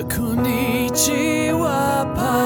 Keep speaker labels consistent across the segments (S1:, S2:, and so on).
S1: Konnichiwa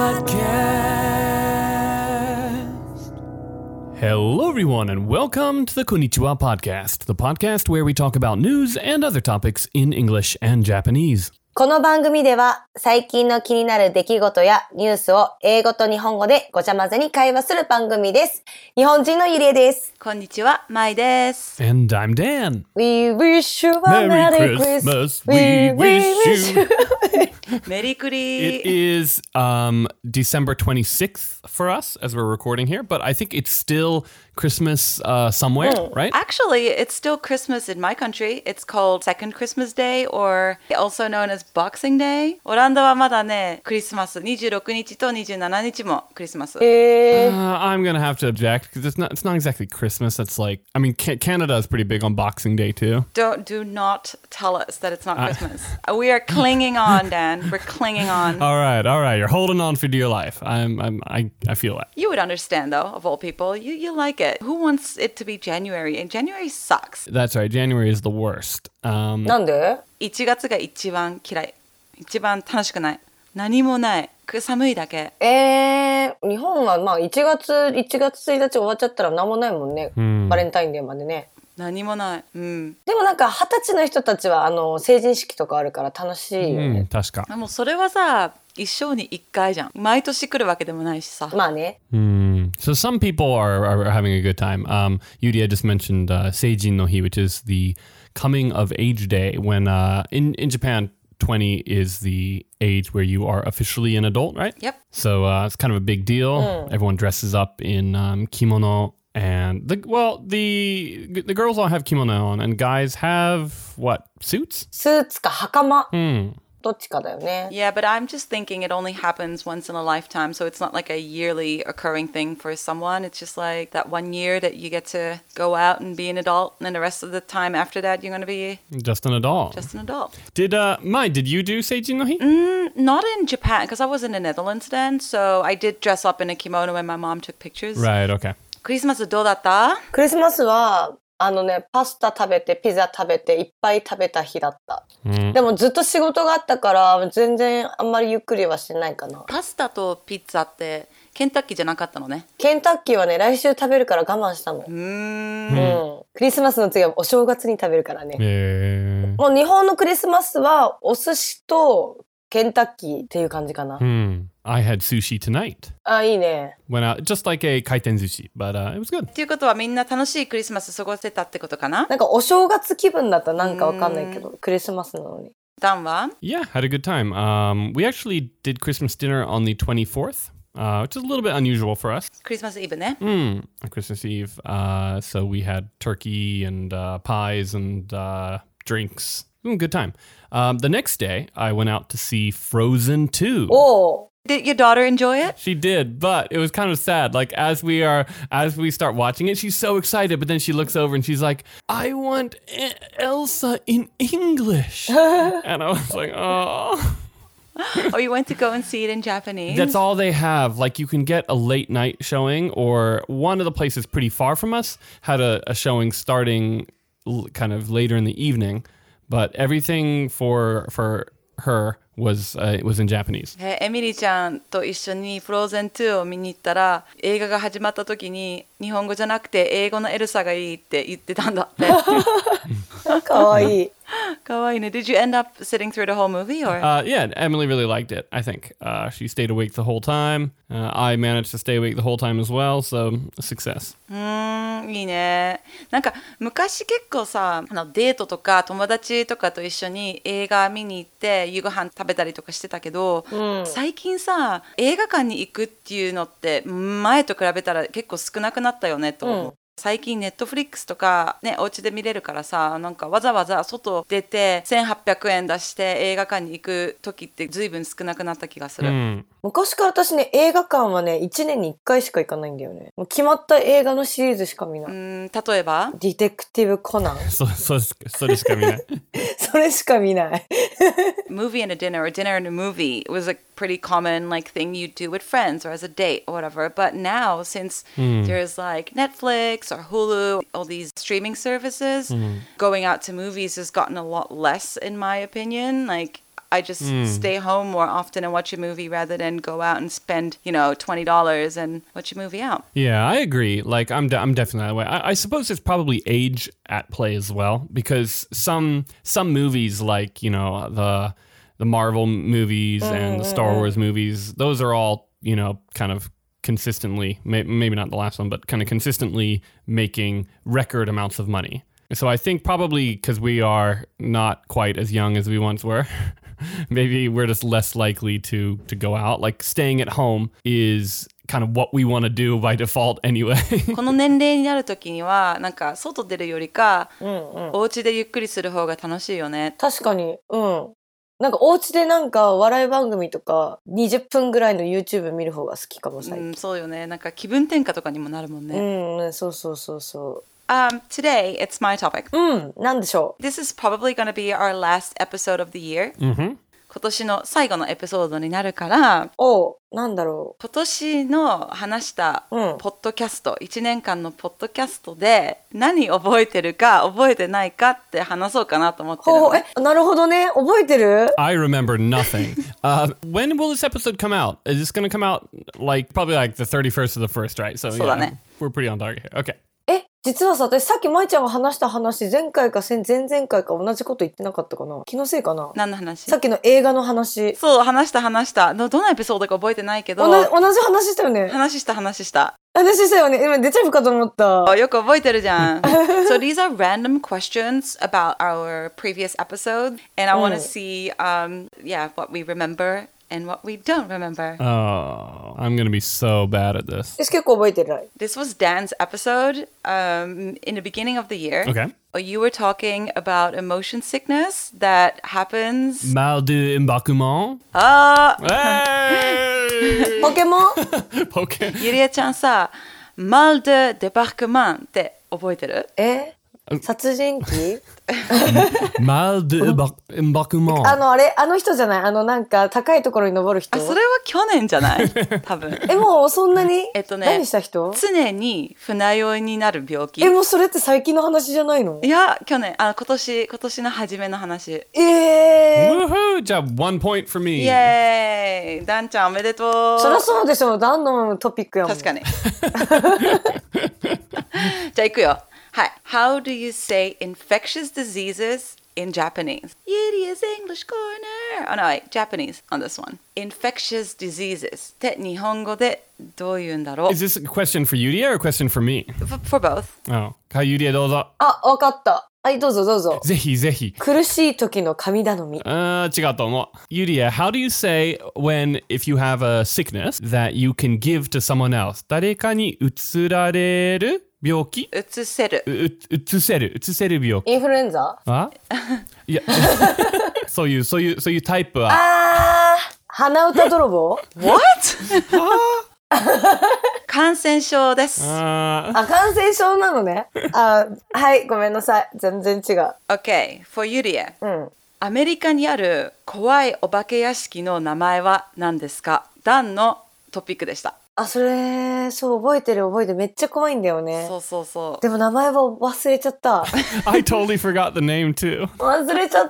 S1: Podcast. Hello, everyone, and welcome to the Konnichiwa Podcast, the podcast where we talk about news and other topics in English and Japanese.
S2: この番組では最近の気になる出来事やニュースを英語と日本語でごちゃ混ぜに会話する番組です。日本人のゆりえです。
S3: こんにちは、まいです。
S1: And I'm Dan.
S2: We wish you a
S1: Merry Christmas. We wish you.
S3: メリクリ。
S1: It is December 26th for us as we're recording here, but I think it's still Christmas somewhere, right?
S3: Actually, it's still Christmas in my country. It's called Second Christmas Day or also known as Boxing Day. オランダはまだね、クリスマス26日と27日もクリスマス。
S1: I'm gonna have to object because it's not exactly Christmas. It's like, I mean, Canada is pretty big on Boxing Day too.
S3: Do not tell us that it's not Christmas. We are clinging on, Dan. We're clinging on.
S1: All right. You're holding on for dear life. I feel that.
S3: You would understand though, of all people. You like it. Who wants it to be January? And January sucks.
S1: That's right. January is the worst.
S2: なんで
S3: 1月が一番嫌い。一番楽しくない。何もない。寒いだけ。
S2: 日本はまあ1月1日終わっちゃったら何もないもんね。バレンタインデーまでね。
S3: 何もない。うん。
S2: でもなんか20歳の人たちは成人式とかあるから楽しいよね。
S1: 確か。
S3: もうそれはさ、一生に一回じゃん。毎年来るわけでもないしさ。
S2: まあね。
S1: So some people are having a good time. Yuria just mentioned Seijin no Hi, which is the coming of age day when in Japan 20 is the age where you are officially an adult, right?
S3: Yep.
S1: So it's kind of a big deal. Everyone dresses up in kimono. And the girls all have kimono on, and guys have what, suits?
S2: スーツか袴。どっちかだよね。
S3: Yeah, but I'm just thinking it only happens once in a lifetime, so it's not like a yearly occurring thing for someone. It's just like that one year that you get to go out and be an adult, and then the rest of the time after that, you're going to be
S1: just an adult.
S3: Just an adult.
S1: Did you do Seijin no Hi?
S3: Not in Japan, because I was in the Netherlands then, so I did dress up in a kimono and my mom took pictures.
S1: Right, okay.
S3: クリスマスどうだった？
S2: クリスマスはパスタ食べてピザ食べていっぱい食べた日だった、でもずっと仕事があったから全然あんまりゆっくりはしてないかな。
S3: パスタとピッツァってケンタッキーじゃなかったのね。
S2: ケンタッキーはね来週食べるから我慢したの。クリスマスの次はお正月に食べるからね。もう日本のクリスマスはお寿司とケンタッキーっていう感じかな。
S1: I had sushi tonight.
S2: いいね。
S1: Went out just like a kaiten sushi, but it was good.
S3: っていうことはみんな楽しいクリスマス過ごせたってことかな？
S2: なんかお正月気分だったらなんかわかんないけど、クリスマスなのに。
S3: ダンは？
S1: Yeah, had a good time. We actually did Christmas dinner on the 24th, which is a little bit unusual for us.
S3: クリスマスイブね。
S1: Christmas Eve. So we had turkey and pies and drinks. Good time. The next day, I went out to see Frozen 2.
S2: Oh.
S3: Did your daughter enjoy it?
S1: She did, but it was kind of sad. Like as we start watching it, she's so excited, but then she looks over and she's like, "I want Elsa in English." And I was like, "Oh."
S3: Oh, you went to go and see it in Japanese?
S1: That's all they have. Like you can get a late night showing, or one of the places pretty far from us had a showing starting kind of later in the evening, but everything for her was in Japanese.
S3: エミリーちゃんと一緒にフローゼン2を見に行ったら映画が始まった時に日本語じゃなくて英語のエルサがいいって言ってたんだって。
S2: かわいい。
S3: かわいいね。Did you end up sitting through the whole movie or?
S1: Yeah, Emily really liked it, I think. She stayed awake the whole time. I managed to stay awake the whole time as well, so a success.
S3: いいね。なんか昔結構さ、デートとか友達とかと一緒に映画見に行って夕ご飯食べたりとかしてたけど、最近さ映画館に行くっていうのって前と比べたら結構少なくなったよねと思う。最近ネットフリックスとかねお家で見れるからさ、なんかわざわざ外出て1800円出して映画館に行く時って随分少なくなった気がする。
S2: 昔から私ね映画館はね1年に1回しか行かないんだよね。もう決まった映画のシリーズしか見ない。
S3: 例えば
S2: ディテクティブコナン。
S1: それしか見ない。
S2: それしか見ない。
S3: Movie and a dinner or dinner and a movie was a pretty common like thing you'd do with friends or as a date or whatever. But now since there's like Netflix or Hulu, all these streaming services, going out to movies has gotten a lot less in my opinion. Like I just stay home more often and watch a movie rather than go out and spend, $20 and watch a movie out.
S1: Yeah, I agree. Like, I'm definitely that way. I suppose there's probably age at play as well, because some movies, like, the Marvel movies and the Star Wars movies, those are all, kind of consistently, maybe not the last one, but kind of consistently making record amounts of money. So I think probably because we are not quite as young as we once were, maybe we're just less likely to go out. Like, staying at home is kind of what we want to do by default anyway.
S3: この年齢になるときには、なんか外出るよりか、お家でゆっくりする方が楽しいよね。
S2: 確かに。なんかお家でなんか笑い番組とか20分ぐらいの YouTube 見る方が好きかも最近。
S3: そうよね。なんか気分転換とかにもなるもんね。
S2: そうそうそうそう。
S3: Today, it's my topic.
S2: なんでしょう。
S3: This is probably going to be our last episode of the year. 今年の最後のエピソードになるから、
S2: なんだろう。
S3: 今年の話したポッドキャスト、1年間のポッドキャストで何覚えてるか覚えてないかって話そうかなと思ってるのね。
S2: なるほどね。覚えてる？
S1: I remember nothing. When will this episode come out? Is this going to come out probably like the 31st of the 1st, right? So yeah, we're pretty on target here. Okay.
S2: 実はさ、私さっき舞ちゃんが話した話、前回か前々回か同じこと言ってなかったかな？気のせいかな？
S3: 何の話？
S2: さっきの映画の話。
S3: そう、話した。どのエピソードか覚えてないけど。
S2: 同じ話したよね。
S3: 話した。
S2: 話したよね。今出ちゃうかと思った。
S3: よく覚えてるじゃん。So these are random questions about our previous episode, and I want to see, what we remember.And what we don't remember.
S1: Oh, I'm going to be so bad at this.
S2: 私結構覚えてない。
S3: This was Dan's episode in the beginning of the year.
S1: Okay.
S3: You were talking about emotion sickness that happens.
S1: Mal de embarquement.
S3: Hey!
S2: ポケモン
S3: ゆりえちゃんさ、mal de débarquement って覚えてる？
S2: 殺人鬼
S1: Mal de embarquement.
S2: あの人じゃない？なんか高いところに登る人。
S3: それは去年じゃない？多分。
S2: もうそんなに？何した人？
S3: 常に船酔いになる病気。
S2: もうそれって最近の話じゃないの？
S3: いや、去年、今年の初めの話。
S1: Woohoo! じゃあ、1 point for me.
S3: イエーイ！ダンちゃんおめでとう。
S2: そりゃそうでしょ。ダンのトピックやもん。
S3: 確かに。じゃあ行くよ。はい。How do you say infectious diseases in Japanese? Yudi's English corner. Oh no, wait, Japanese on this one. Infectious diseases. って日本語でどう言うんだろう？
S1: Is this a question for Yudia or a question for me?
S3: For both.
S1: Oh. はい、Yudiaどうぞ。
S2: わかった。はい、どうぞどうぞ。
S1: ぜひぜひ。
S2: 苦しい時の神頼み。
S1: 違うと思う。Yudia, how do you say if you have a sickness that you can give to someone else? 誰かに移られる病気？
S3: 移せる
S1: 病気。
S2: インフルエンザ？
S1: いや、そういうタイプは。
S2: 鼻歌泥棒？
S3: What? 感染症です。
S2: 感染症なのね。はい、ごめんなさい。全然違う。
S3: Okay, for Yuria. アメリカにある怖いお化け屋敷の名前は何ですか？ダンのトピックでした。
S2: それ、そう、覚えてる。めっちゃ怖いんだよね。
S3: そう。
S2: でも名前は忘れちゃった。
S1: I totally forgot the name too.
S2: 忘れちゃった。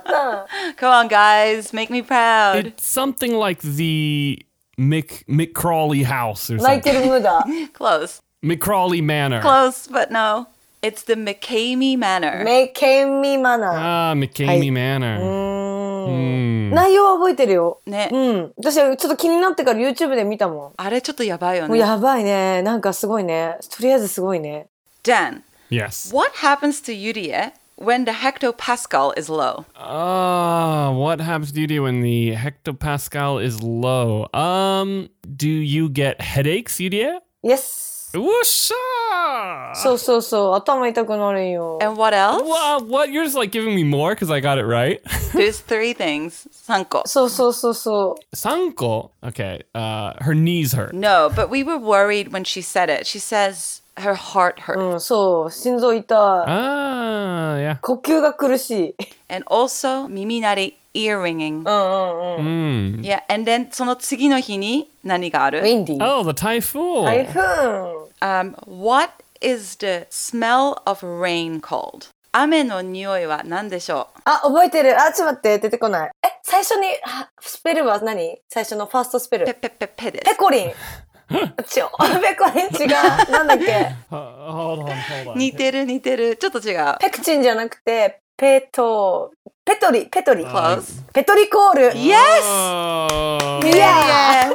S3: Come on, guys, make me proud.
S1: It's something like the McCrawley house or something.
S2: 泣いてるムーダ。
S3: Close.
S1: McCrawley Manor.
S3: Close, but no. It's the McCamey Manor.
S2: McCamey Manor.
S1: McCamey Manor.
S2: 内容は覚えてるよ。
S3: ね。
S2: 私ちょっと気になってから YouTube で見たもん。
S3: あれちょっとやばいよね。
S2: もうやばいね。なんかすごいね。とりあえずすごいね。
S3: Dan.
S1: Yes.
S3: What happens to Yuria when the hectopascal is low?
S1: What happens to you when the hectopascal is low? Do you get headaches, Yudia?
S2: Yes.
S1: Whoosha!
S2: そう頭痛くなるんよ。
S3: And what else?
S1: What? You're just like giving me more because I got it right?
S3: There's 3 things. 3個。
S2: そう。
S1: 3個? Okay. Her knees hurt.
S3: No, but we were worried when she said it. She says her heart hurts.
S2: そう。心臓痛い。
S1: Yeah.
S2: 呼吸が苦しい。
S3: And also 耳鳴り。ear ringing. Yeah, and then その次の日に何がある？
S2: Windy.
S1: Oh, the typhoon.
S2: 台風。
S3: What is the smell of rain called? 雨の匂いは何でしょう？
S2: あ、覚えてる。あ、ちょっと待って、出てこない。最初に、スペルは何？最初のファーストスペル。
S3: ペです。
S2: ペコリン。ペコリン違う。なんだっけ？
S1: Hold on.
S3: 似てる。ちょっと違う。
S2: ペクチンじゃなくて、ペトリ。
S3: Close.
S2: ペトリコール。
S3: Yes!
S2: Yeah!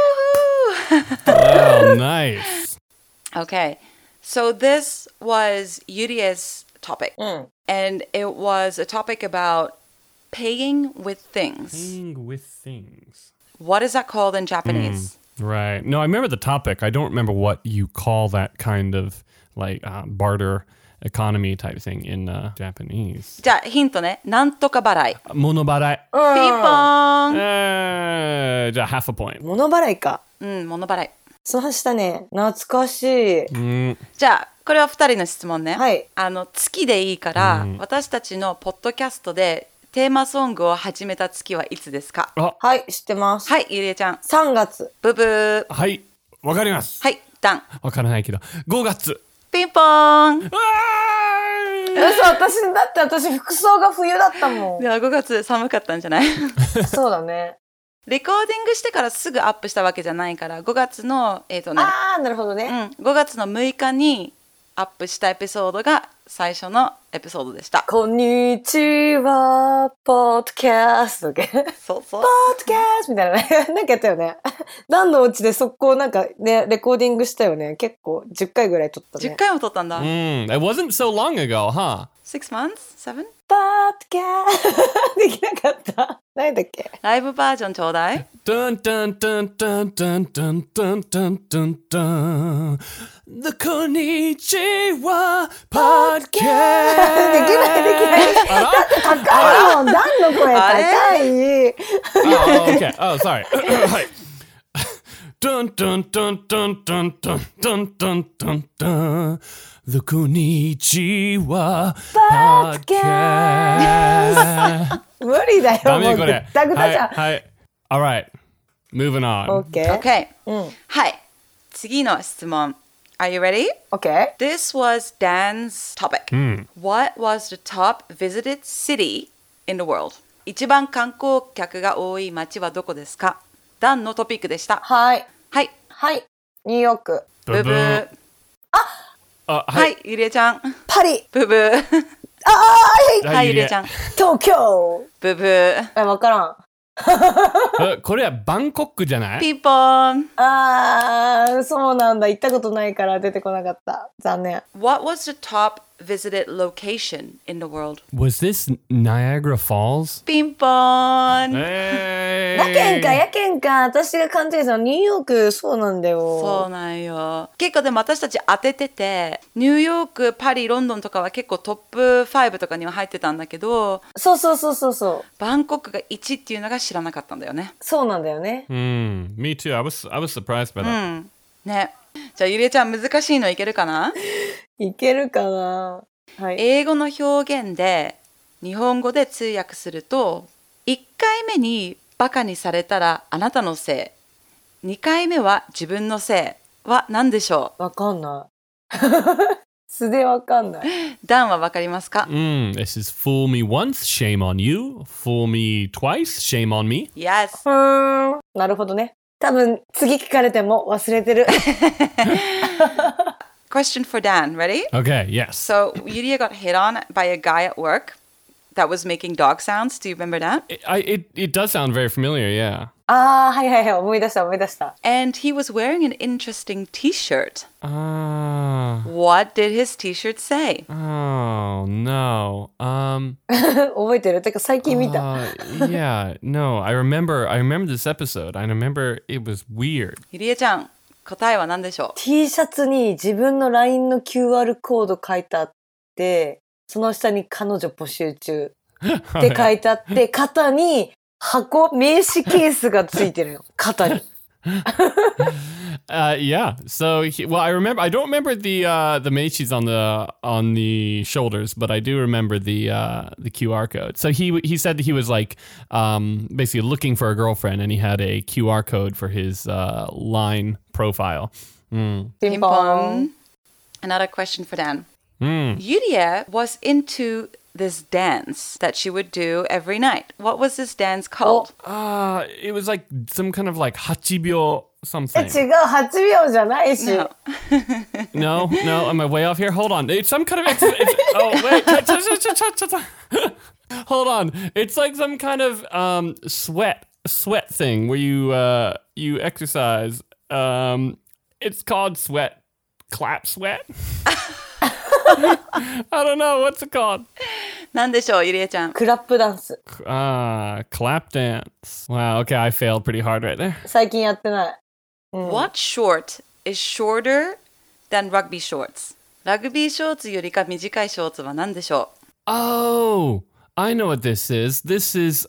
S1: Oh, nice.
S3: Okay. So this was Yuri's topic. And it was a topic about paying with things.
S1: Paying with things.
S3: What is that called in Japanese?
S1: Right. No, I remember the topic. I don't remember what you call that kind of like barter economy type thing in Japanese.
S3: じゃあヒントね。なんとか払い。
S1: 物払い。
S3: ピンポーン。
S1: じゃあ half a point.
S2: 物払いか。
S3: 物払い。
S2: そうしたね。懐かしい。
S3: じゃあこれは2人の質問ね。
S2: はい。
S3: 月でいいから、私たちのポッドキャストでテーマソングを始めた月はいつですか？
S2: はい、知ってます。
S3: はい、ゆりえちゃん。
S2: 3月。
S3: ブブー。
S1: はい、わかります。
S3: はい、ダン。
S1: わからないけど、5月。
S3: ピンポーン。
S2: 嘘、私服装が冬だったもん。
S3: では5月寒かったんじゃない？
S2: そうだね。
S3: レコーディングしてからすぐアップしたわけじゃないから、5月の、
S2: なるほどね。
S3: 5月の6日にアップしたエピソードが最初のエピソードでした。
S2: こんにちは、ポッドキャスト。
S3: そう。
S2: ポッドキャストみたいなね。なんかやったよね。ダンのお家で速攻なんかね、レコーディングしたよね。結構10回ぐらい撮ったね。
S3: 10回も撮ったんだ。
S1: It wasn't so long ago, huh?
S3: 6 months? 7?
S2: ポッドキャストできなかった。何だっけ？
S3: ライブバージョンちょうだい。
S1: Dun dun dun dun dun dun dun dun dun dun. The Konnichiwa Podcast.
S2: できない。だって高いもん。ダンの声高い。
S1: Oh, okay. Oh, sorry. はい。Dun dun dun dun dun dun dun dun dun dun. The Konnichiwa Podcast.
S2: 無理だよ。
S1: ダメこれ。
S2: ぐったぐたじゃん。
S1: はい。Alright. Moving on.
S2: Okay.
S3: Okay. はい。次の質問。Are you ready?
S2: Okay.
S3: This was Dan's topic. What was the top visited city in the world? 一番観光客が多い街はどこですか？ダンのトピックでした。
S2: はい。
S3: はい。
S2: はい。ニューヨーク。
S3: ブブー。
S1: は
S3: はい、ゆりえちゃん。
S2: パリ。
S3: ブブー。はい、ゆりえちゃん。
S2: 東京。
S3: ブブー。
S2: わからん。
S1: これはバンコクじゃない？
S3: ピンポーン。
S2: そうなんだ。行ったことないから出てこなかった。残念。
S3: What was the top visited location in the world?
S1: Was this Niagara Falls?
S3: ピンポーン。
S2: やけんか。私が勘違いしたのニューヨーク、そうなんだよ。
S3: そうなんよ。結構でも私たち当ててて、ニューヨーク、パリ、ロンドンとかは結構トップ5とかには入ってたんだけど、
S2: そう。
S3: バンコクが1っていうのが知らなかったんだよね。
S2: そうなんだよね。
S1: Me too. I was surprised by that.
S3: ね。じゃあゆりえちゃん難しいのいけるかな？
S2: いけるかな。はい。
S3: 英語の表現で日本語で通訳すると、1回目にバカにされたらあなたのせい、2回目は自分のせいは何でしょ
S2: わかんない。素でわかんない。
S3: ダンはわかりますか？
S1: This is fool me once, shame on you. Fool me twice, shame on me.
S3: Yes.
S2: なるほどね。多分次聞かれても忘れてる。
S3: Question for Dan. Ready?
S1: Okay, yes.
S3: So Yuria got hit on by a guy at work that was making dog sounds. Do you remember that?
S1: It does sound very familiar, yeah.
S2: はい。思い出した。
S3: And he was wearing an interesting t-shirt.
S1: What
S3: did his t-shirt say?
S1: Oh, no.
S2: 覚えてる？てか最近見た。
S1: Yeah, no. I remember this episode. I remember it was weird.
S3: ゆりえちゃん、答えは何でしょう？
S2: T シャツに自分の LINE の QR コード書いてあって、その下に彼女募集中って書いてあって、肩に名刺ケースがついてるよ。肩に。
S1: Yeah. So, I don't remember the meichis on the shoulders, but I do remember the QR code. So he said that he was like basically looking for a girlfriend, and he had a QR code for his Line profile.
S3: Ping pong. Another question for Dan. Yuria was into this dance that she would do every night. What was this dance called?
S1: It was like some kind of like 8秒 something.
S2: 違う、8秒じゃないし。
S1: No, am I way off here? Hold on. It's some kind of oh, wait. Hold on. It's like some kind of sweat thing where you exercise. It's called clap sweat. I don't know. What's it called?
S3: なんでしょう、ゆりえちゃん。
S2: クラップダンス。
S1: Clap dance. Wow, okay, I failed pretty hard right there.
S2: 最近やってない。
S3: What short is shorter than rugby shorts? ラグビーショーツよりか短いショーツは何でしょう？
S1: Oh, I know what this is. This is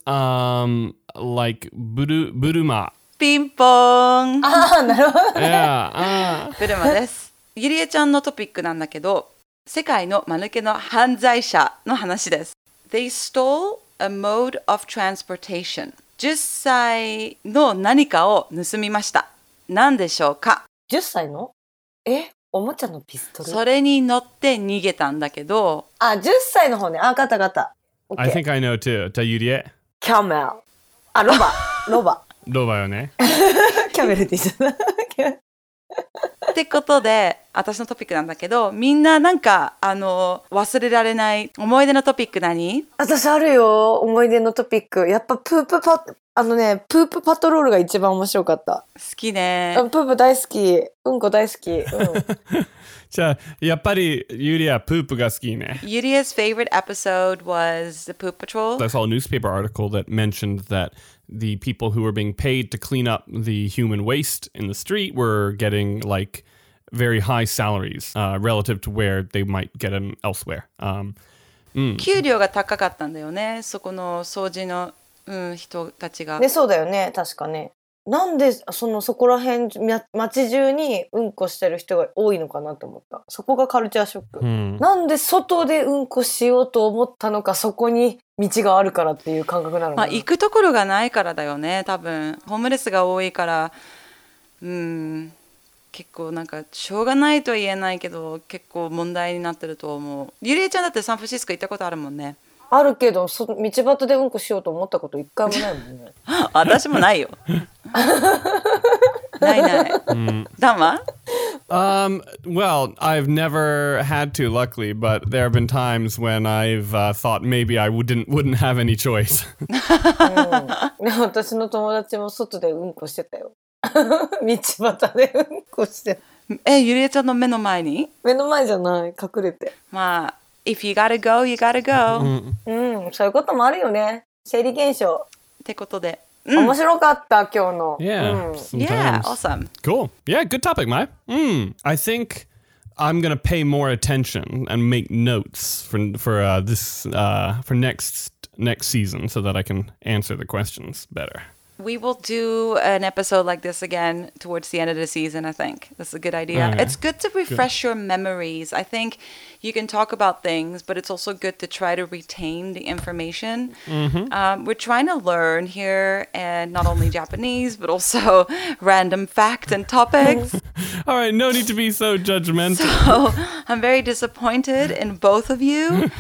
S1: like buruma.
S3: ピンポーン。
S2: なるほど。
S1: Yeah.
S3: ブルマです。ゆりえちゃんのトピックなんだけど、世界の間抜けの犯罪者の話です。They stole a mode of transportation. 10歳の何かを盗みました。何でしょうか？
S2: 10歳の？おもちゃのピストル？
S3: それに乗って逃げたんだけど。
S2: 10歳の方ね。ガタガタ。
S1: I think I know too. じゃあゆりえ。
S2: キャメル。ロバ
S1: よね。
S2: キャメルって言っちゃった。
S3: ってことで、私のトピックなんだけど、みんななんか忘れられない思い出のトピック何？
S2: 私あるよ、思い出のトピック。やっぱプープパトロールが一番面白かった。
S3: 好きね。
S2: プープ大好き。うんこ大好き。
S1: じゃあやっぱりユリはプープが好きね。
S3: Yulia's favorite episode was the Poop Patrol.
S1: I saw a newspaper article that mentioned that the people who were being paid to clean up the human waste in the street were getting like very high salaries relative to where they might get them elsewhere.
S3: 給料が高かったんだよね。そこの掃除の、人たちが。
S2: ね、そうだよね、確かね。なんでそこら辺街中にうんこしてる人が多いのかなと思った。そこがカルチャーショック。なんで外でうんこしようと思ったのか、そこに道があるからっていう感覚なのかな。
S3: 行くところがないからだよね、多分。ホームレスが多いから、結構なんかしょうがないとは言えないけど、結構問題になってると思う。ゆりえちゃんだってサンフランシスコ行ったことあるもんね。
S2: あるけど、道端でうんこしようと思ったこと一回もないもんね。
S3: 私もないよ。ない。ダンは
S1: ？Well, I've never had to, luckily, but there have been times when I've thought maybe I wouldn't have any choice.
S2: 私の友達も外でうんこしてたよ。道端でうんこして。
S3: ゆりえちゃんの目の前に？
S2: 目の前じゃない、隠れて。
S3: まあ、if you gotta go, you gotta go.
S2: そういうこともあるよね。生理現象。
S3: ってことで。
S2: 面白かった、今日の。
S3: Yeah, awesome.
S1: Cool. Yeah, good topic, Mai. I think I'm gonna pay more attention and make notes for next season so that I can answer the questions better.
S3: We will do an episode like this again towards the end of the season, I think. That's a good idea.
S1: Okay.
S3: It's good to refresh your memories. I think you can talk about things, but it's also good to try to retain the information. We're trying to learn here, and not only Japanese, but also random facts and topics.
S1: All right, no need to be so judgmental.
S3: So I'm very disappointed in both of you.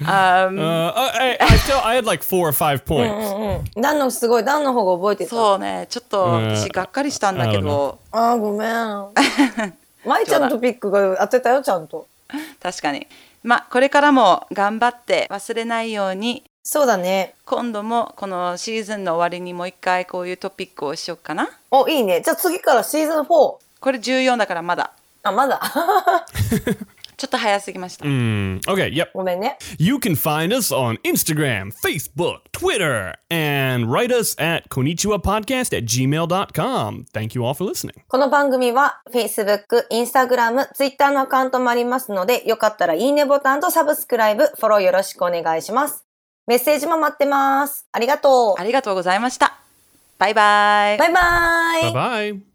S1: I had like 4 or 5 points.
S2: ダンのすごい、ダンの方が覚えてた。
S3: そうね、ちょっと私がっかりしたんだけど。
S2: ごめん。舞ちゃんのトピックが当てたよ、ちゃんと。
S3: 確かに。これからも頑張って忘れないように。
S2: そうだね。
S3: 今度もこのシーズンの終わりにもう一回こういうトピックをしようかな。
S2: いいね。じゃあ次からシーズン4。
S3: これ14だからまだ。
S2: まだ。
S3: ちょっと早すぎました。
S1: Okay, yep.
S2: ごめんね。
S1: You can find us on Instagram, Facebook, Twitter, and write us at konnichiwapodcast@gmail.com. Thank you all for listening.
S2: この番組は Facebook、Instagram、Twitter のアカウントもありますので、よかったらいいねボタンとサブスクライブ、フォローよろしくお願いします。メッセージも待ってます。ありがとう。
S3: ありがとうございました。バイバイ。
S2: バイバイ。
S1: Bye-bye.